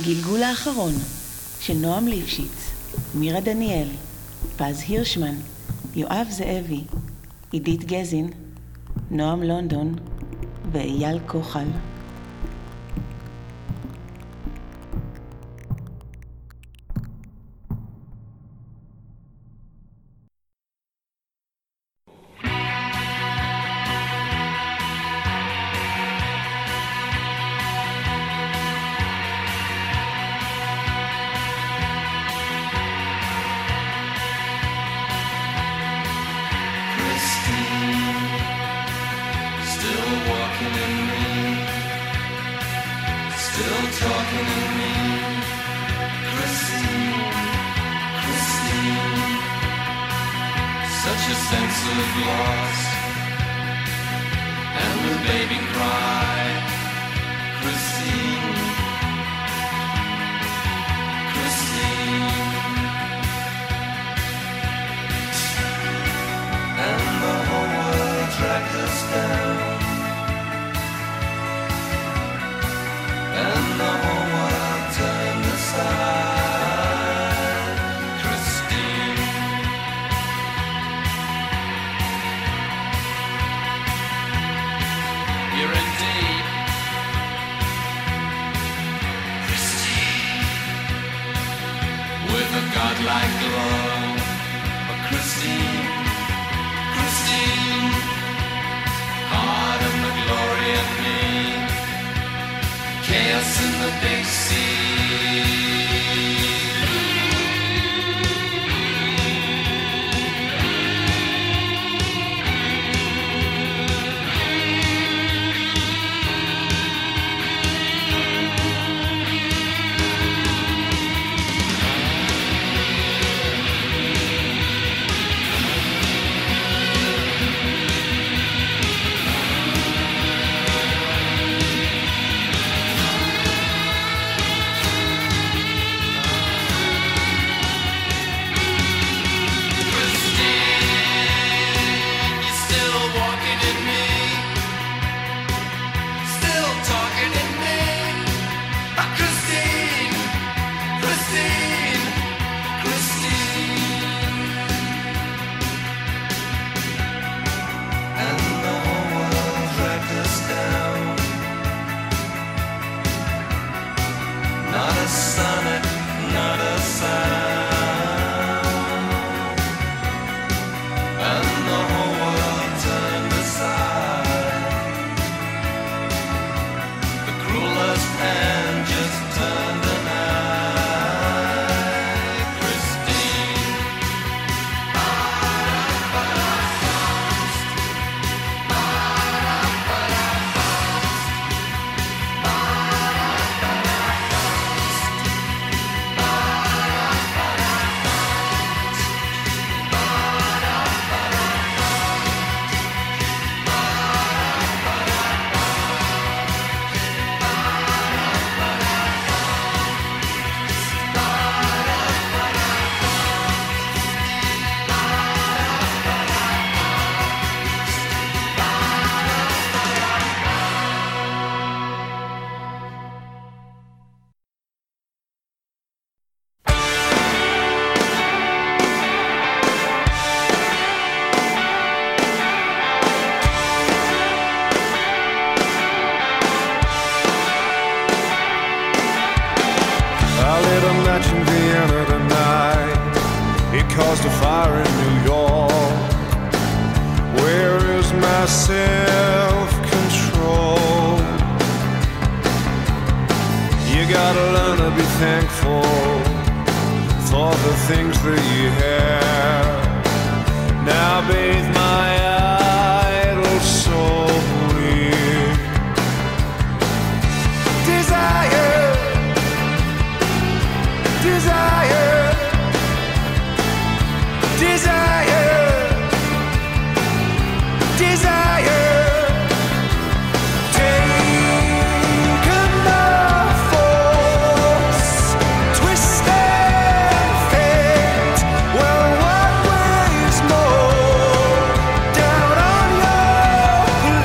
הגלגול האחרון של נועם ליפשיץ, מירה דניאל, פז הירשמן, יואב זאבי, עידית גזין, נועם לונדון ואייל כוחל.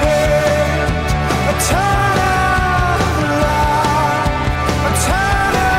Turn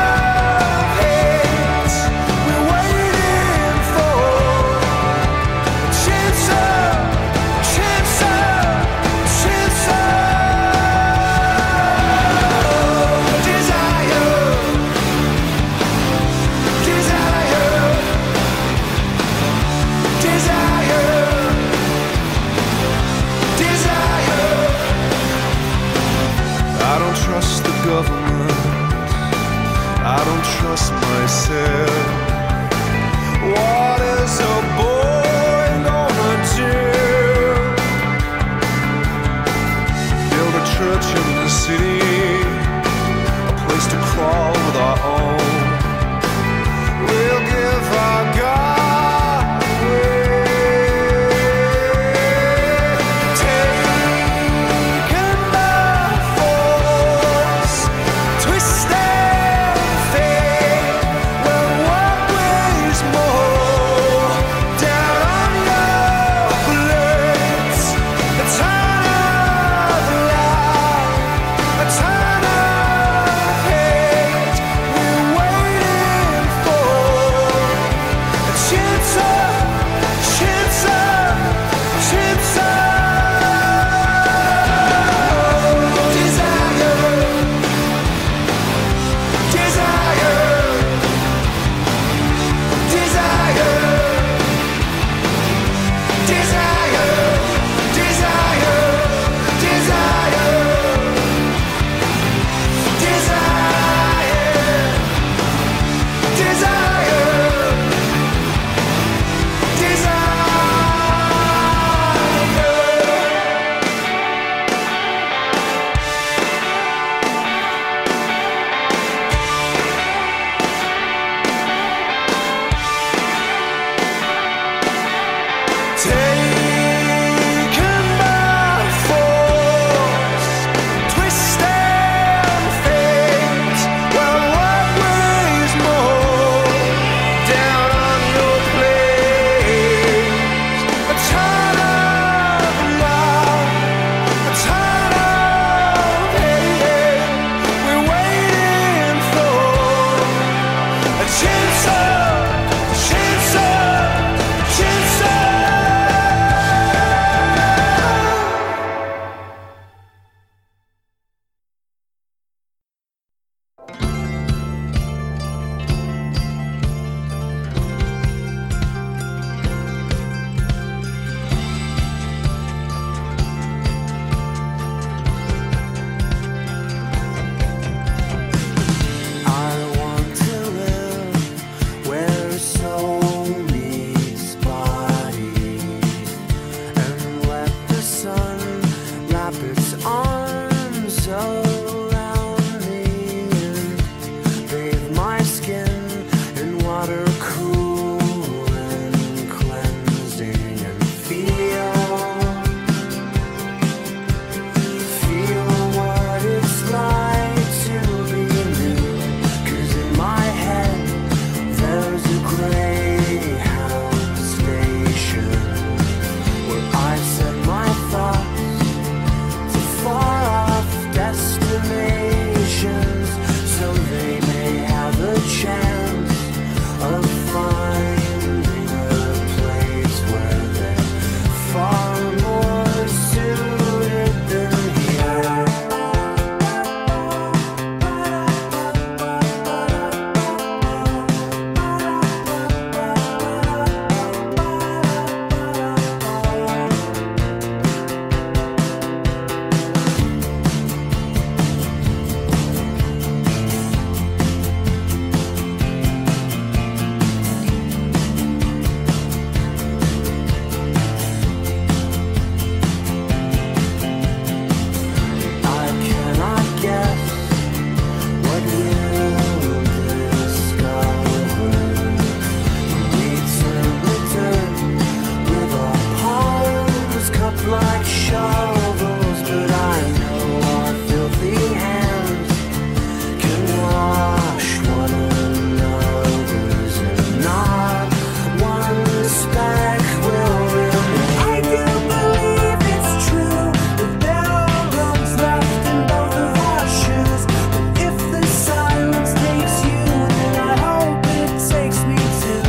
shovels, but I know our filthy hands can wash one another's, and not one speck will remain. I do believe it's true that there are roads left in both of our shoes, but if the silence takes you, then I hope it takes me too.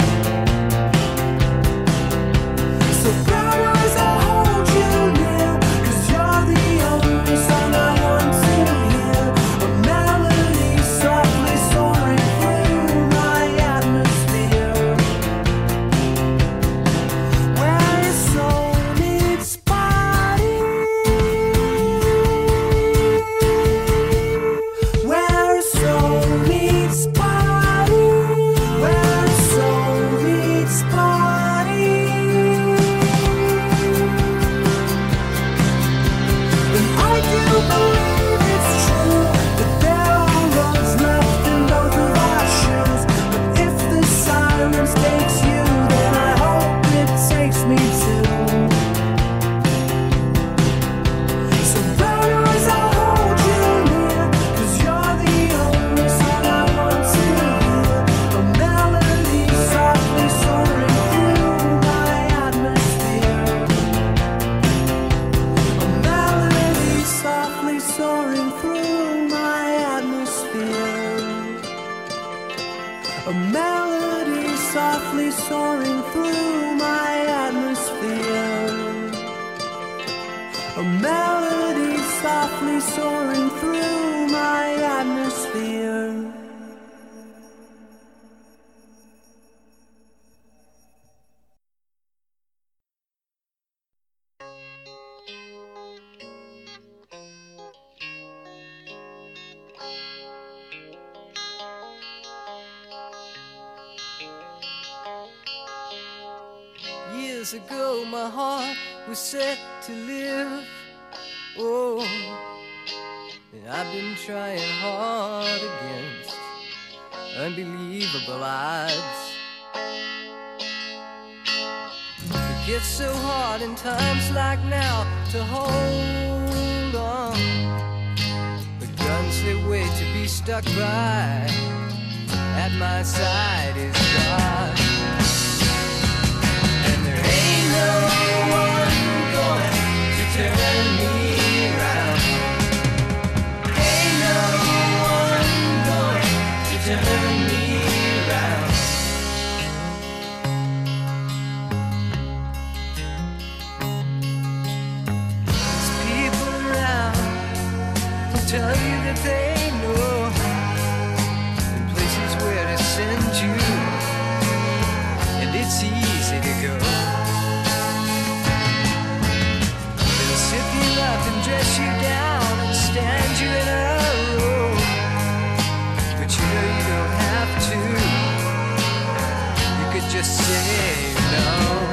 So brown eyes, I'll hold you near, 'cause you're the only song I want to hear. A melody softly soaring through my atmosphere, where a soul meets body, where a soul meets body, where a soul meets body. And I do believe it's true that there are roads left in both of our shoes, but if the silence takes you, then I hope it takes me too. So brown eyes, I'll hold you near, 'cause you're the only song I want to hear. A melody softly soaring through my atmosphere, a melody softly soaring through my atmosphere, a melody softly soaring through my atmosphere, a melody softly soaring through my atmosphere. Years ago my heart was set to live. Oh, and I've been trying hard against unbelievable odds. It gets so hard in times like now to hold on. The guns they wait to be stuck by at my side is God. And there ain't no one going to turn me around. Ain't no one going to turn me around. There's people around who tell you that they know the places where to send you, and it's easy to go. They'll sip you up and dress you down and stand you in a row, but you know you don't have to. You could just say no.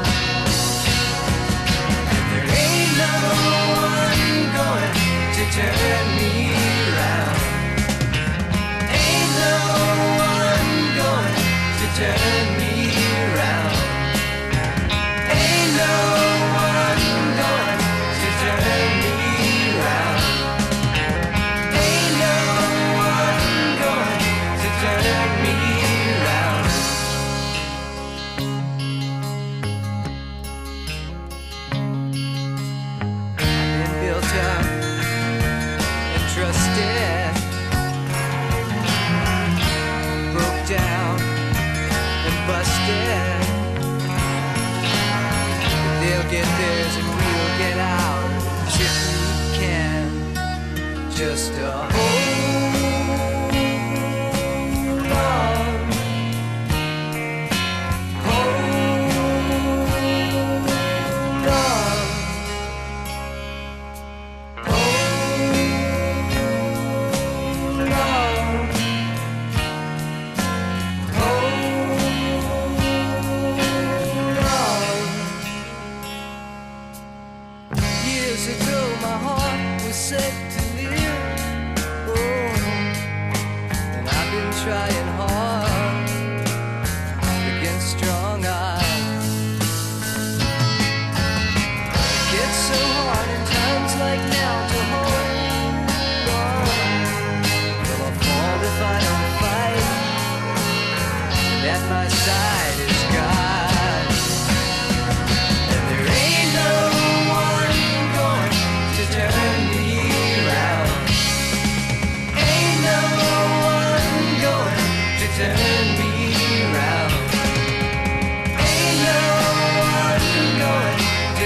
And there ain't no one going to turn me around. Ain't no one going to turn me around. Ain't no one going to turn me around. Ain't no one going to turn me around. I've been built up and trusted, broke down and busted. But they'll get theirs and we'll get ours if we can. Just hold on. Hold on. Hold on. Years ago my heart was set to live. Oh, and I've been trying hard against strong odds. It gets so hard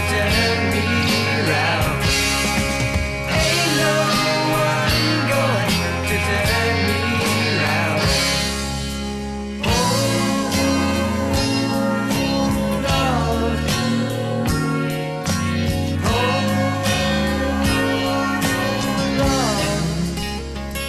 turn me round. Ain't no one going to turn me round. Hold on. Hold on.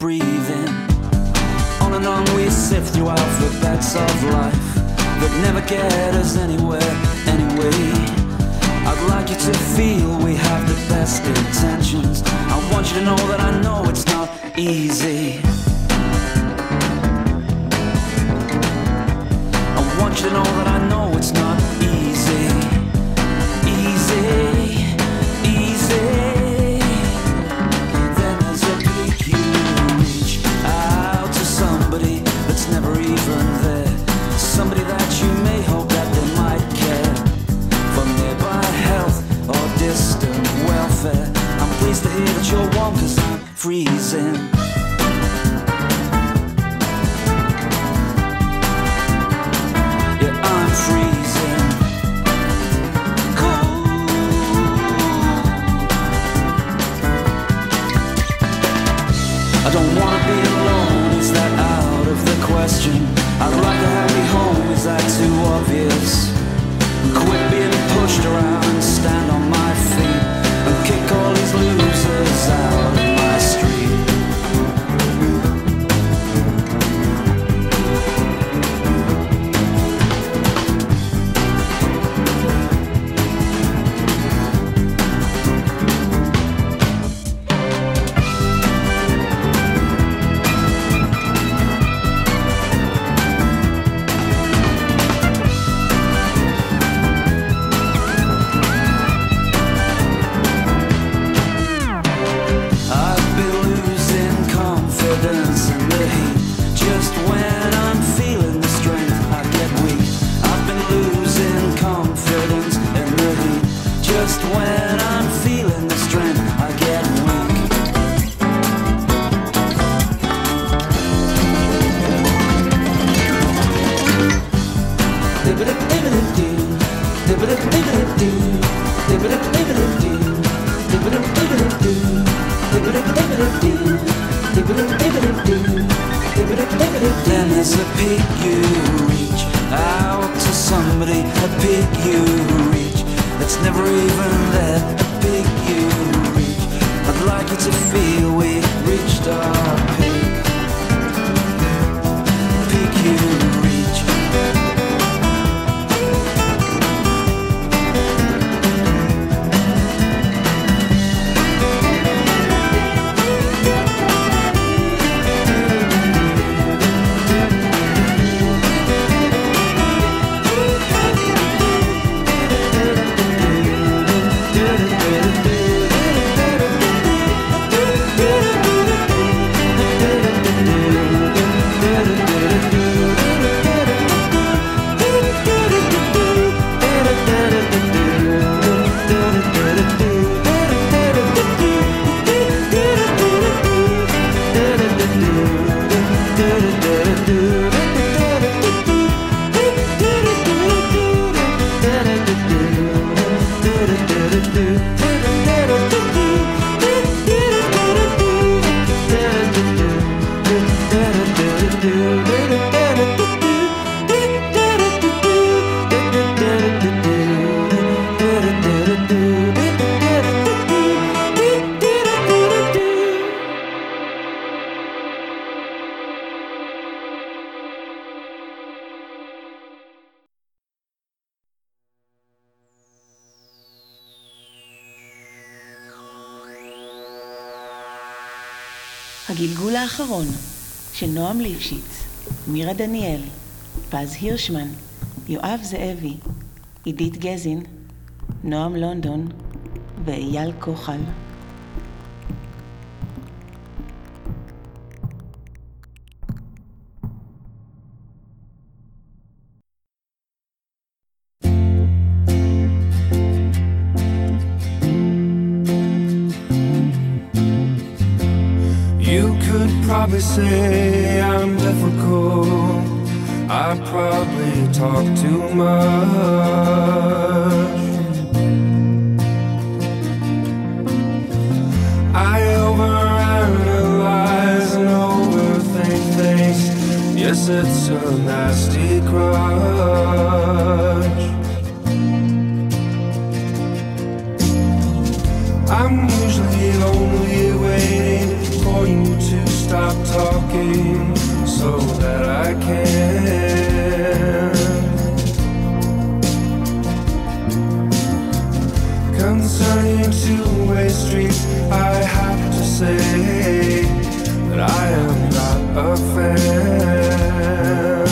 breathing. On and on we sift through alphabets of life that never get us anywhere anyway. I'd like you to feel we have the best intentions. I want you to know that I know it's not easy. I want you to know that I know it's not easy. Easy, easy. Then there's a peak you reach out to somebody that's never even there. Somebody that you may hope that they might care for nearby health or distant welfare. I'm pleased to hear that you're warm 'cause I'm freezing. Yeah, I'm freezing. Cold. I don't wanna be alone, is that out of the question? I'd like to have you home, is that too obvious? Quit being pushed around and stand on my feet and kick all these losers out of my street. Then there's a peak you reach out to somebody, a peak you reach that's never even there, a peak you reach. I'd like you to feel we reached our peak, peak you reach. הגלגול האחרון של נועם ליפשיץ, מירה דניאל, פז הירשמן, יואב זאבי, עידית גזין, נועם לונדון ואייל כוחל. Probably say I'm difficult. I probably talk too much. I overanalyze and overthink things. Yes, it's a nasty crutch. I'm usually only waiting for you to stop stop talking so that I can. Concerning two-way streets, I have to say that I am not a fan.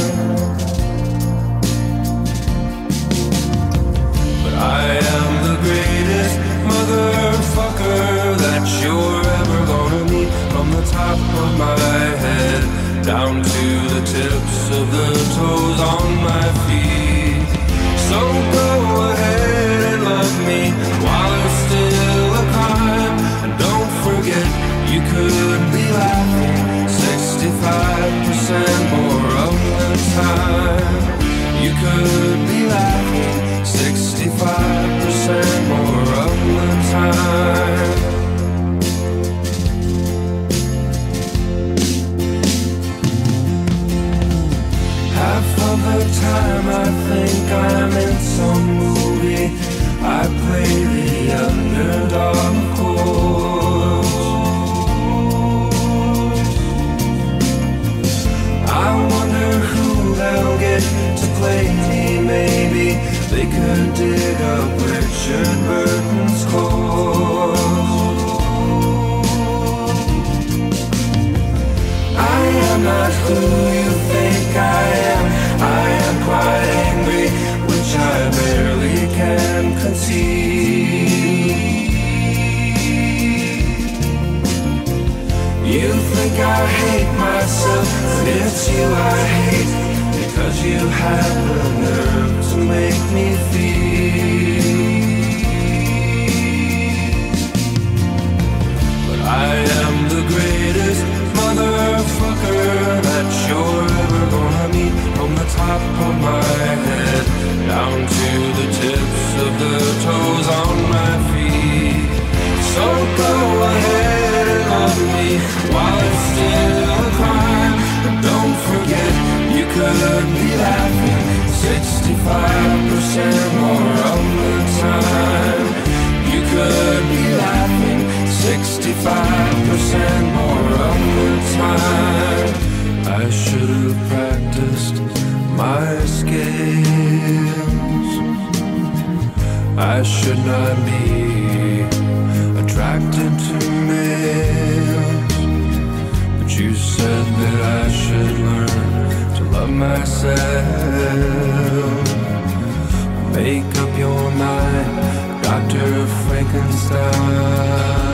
But I am the greatest motherfucker that you're ever gonna meet. From the top of my head down to the tips of the toes on my feet. So go ahead and love me while it's still a crime. And don't forget, you could be laughing 65% more of the time. You could be laughing 65% more of the time. Half of the time I think I'm in some movie. I play the underdog, of course. I wonder who they'll get to play me. Maybe they could dig up Richard Burton's corpse. I am not who you think I am. I am quite angry, which I barely can conceive. You think I hate myself, but it's you I hate, because you have the nerve to make me feel. But I am the greatest motherfucker that you're ever gonna meet. From the top of my head down to the tips of the toes on my feet. So go ahead and love me while it's still a crime. But don't forget, you could be laughing 65% more of the time. You could be laughing 65% more of the time. I should have practiced my skills. I should not be attracted to males. But you said that I should learn to love myself. Make up your mind, Dr. Frankenstein.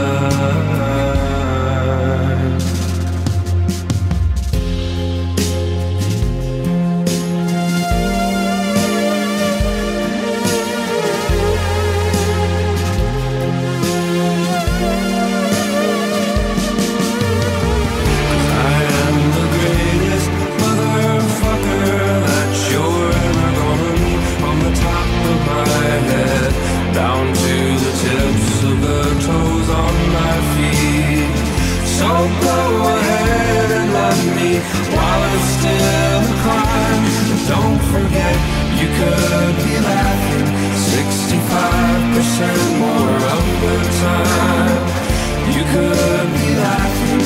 Down to the tips of the toes on my feet. So go ahead and love me while it's still a crime. Don't forget, you could be laughing 65% more of the time. You could be laughing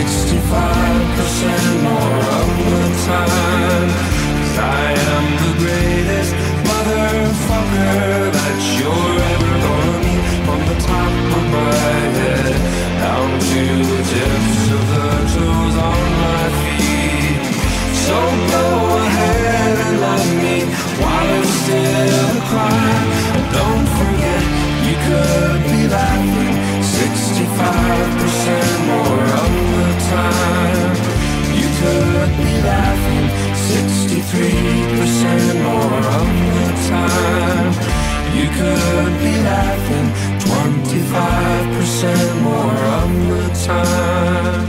65% more of the time. 'Cause I am the greatest motherfucker that you're ever gonna meet. From the top of my head down to the tips of the toes on my feet. So go ahead and love me while it's still a crime. And don't forget, you could be laughing 65% more of the time. You could be laughing 63% more of the time. You could be laughing 25% more of the time.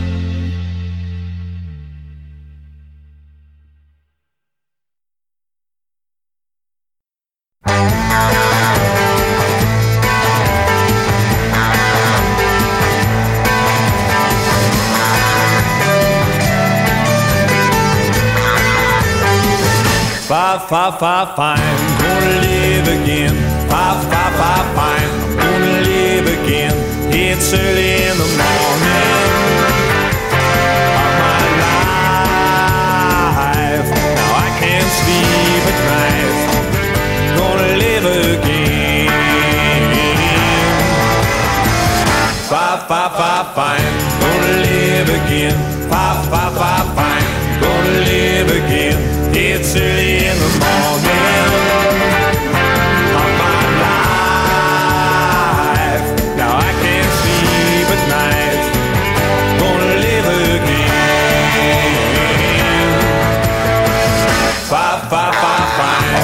Fine, gonna live again. Fine, I'm gonna live again. It's early in the morning. Gonna live again, fine. Gonna live again. It's early in the morning of my life. Now I can't sleep at night. Gonna live again. Fine.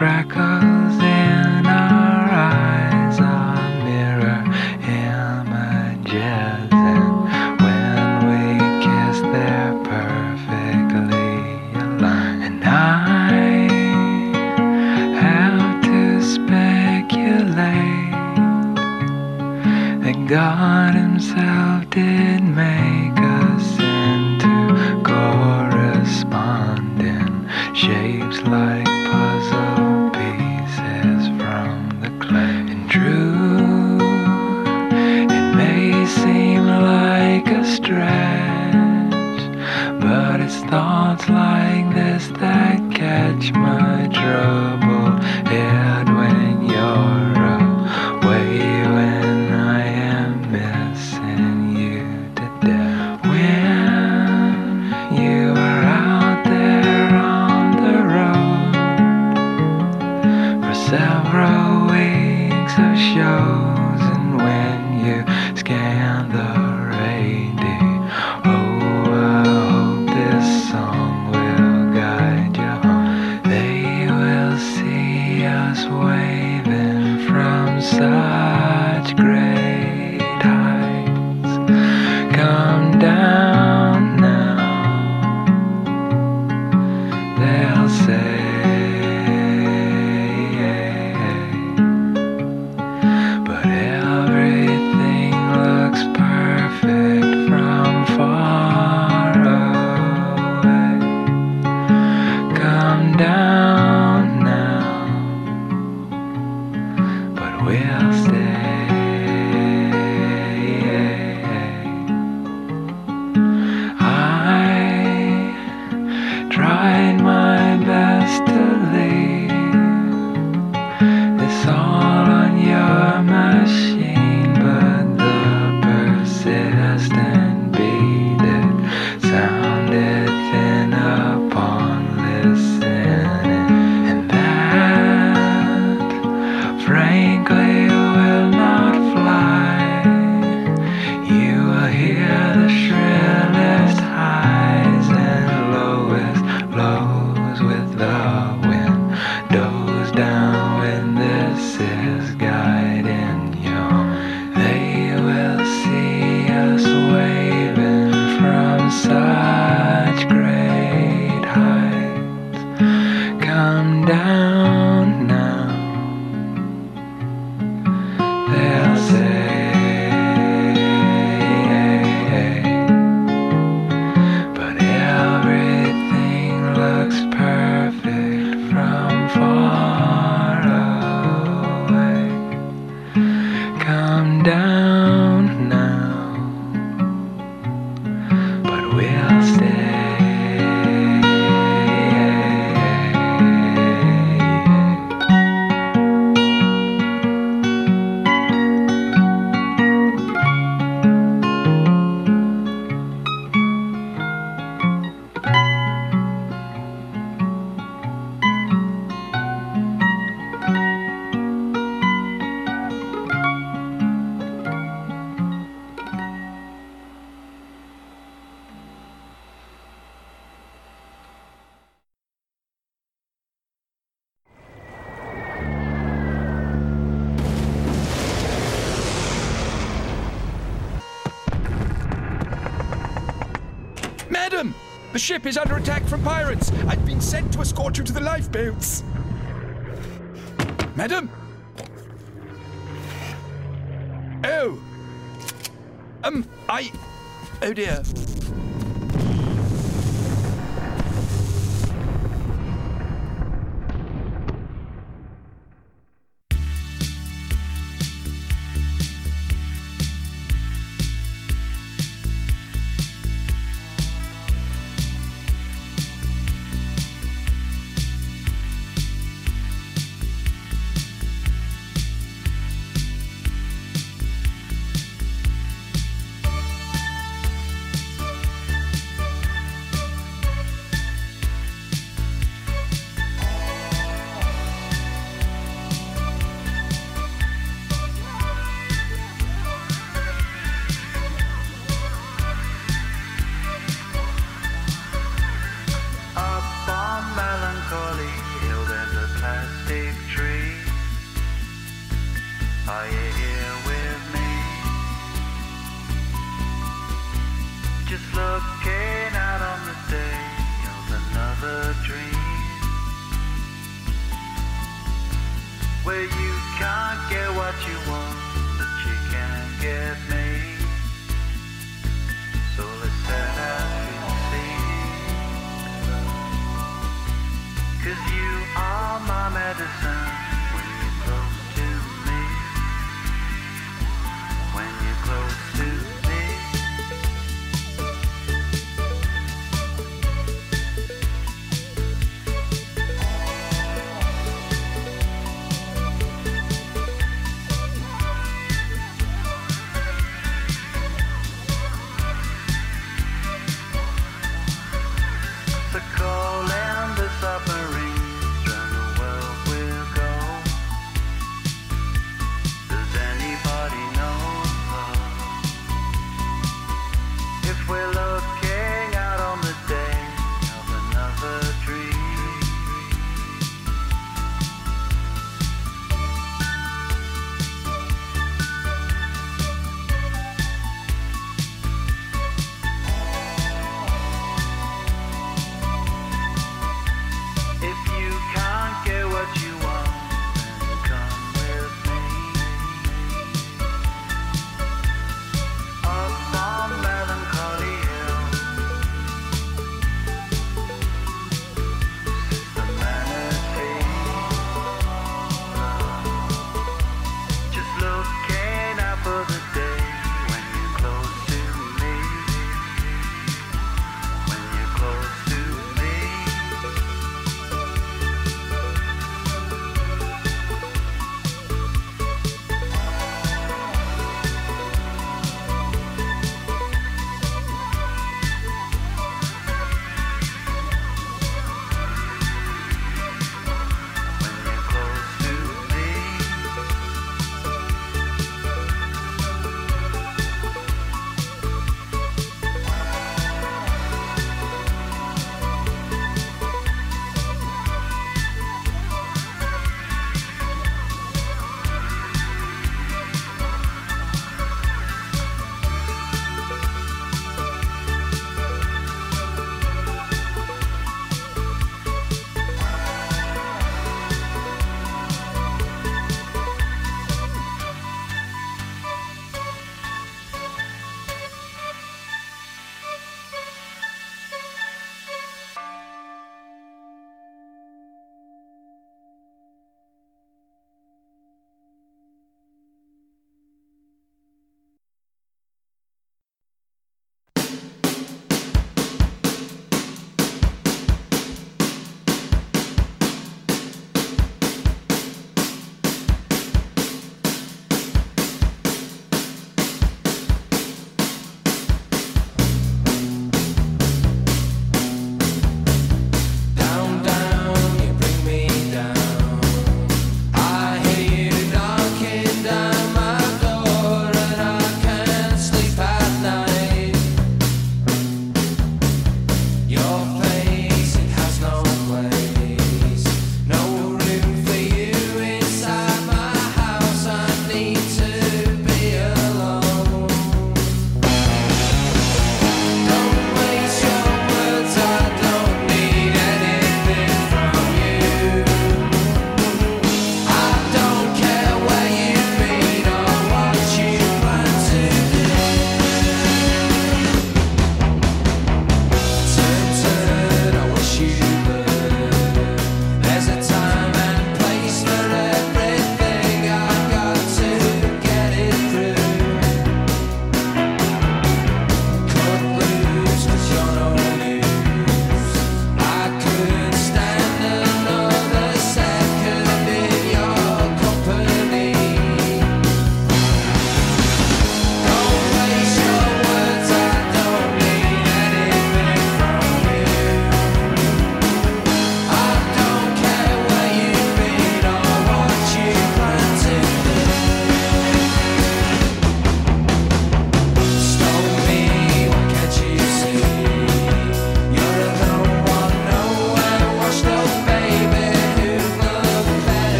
freckles in our eyes are mirror images, and when we kiss they're perfectly aligned. And I have to speculate that God himself did make us into corresponding shapes like puzzle pieces from the clay. And true, it may seem like a stretch, but it's thoughts like this that catch my troubled head when you're away, when I am missing you to death. When you are out there on the road for several weeks of shows, and when you scan the radio, oh, I hope this song will guide you home. They will see us waving from such great heights. Come down now, they'll say, but everything looks perfect from far away. Come down now, but we'll stay. I tried my best to leave this all on your machine, but the persistent beat, it sounded thin upon listening, and that frankly will not fly. You will hear the shrillest highs and lowest lows with the windows down when this is guiding you. They will see us waving from such great heights. Come down now, they'll say, but everything looks perfect from far away. Come down now, but we'll stay. Madam! The ship is under attack from pirates. I've been sent to escort you to the lifeboats. Madam? Oh. Oh dear. plastic tree. Are you here with me? Just looking out on the day of another dream, where you can't get what you want, but you can get me. So let's set out to sea, 'cause you are my medicine when you're close to me. When you're close to me.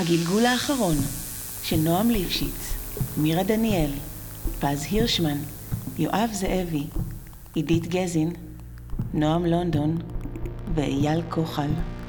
הגלגול האחרון של נועם ליפשיץ, מירה דניאל, פז הירשמן, יואב זאבי, עידית גזין, נועם לונדון ואייל כוחל.